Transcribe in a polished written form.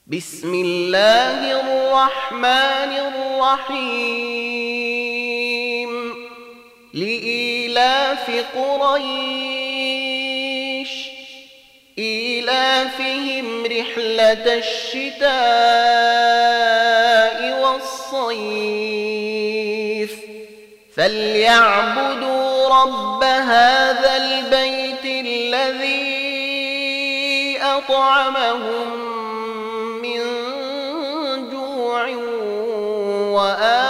بسم الله الرحمن الرحيم لإيلاف قريش إيلافهم رحلة الشتاء والصيف فليعبدوا رب هذا البيت الذي أطعمهم من جوع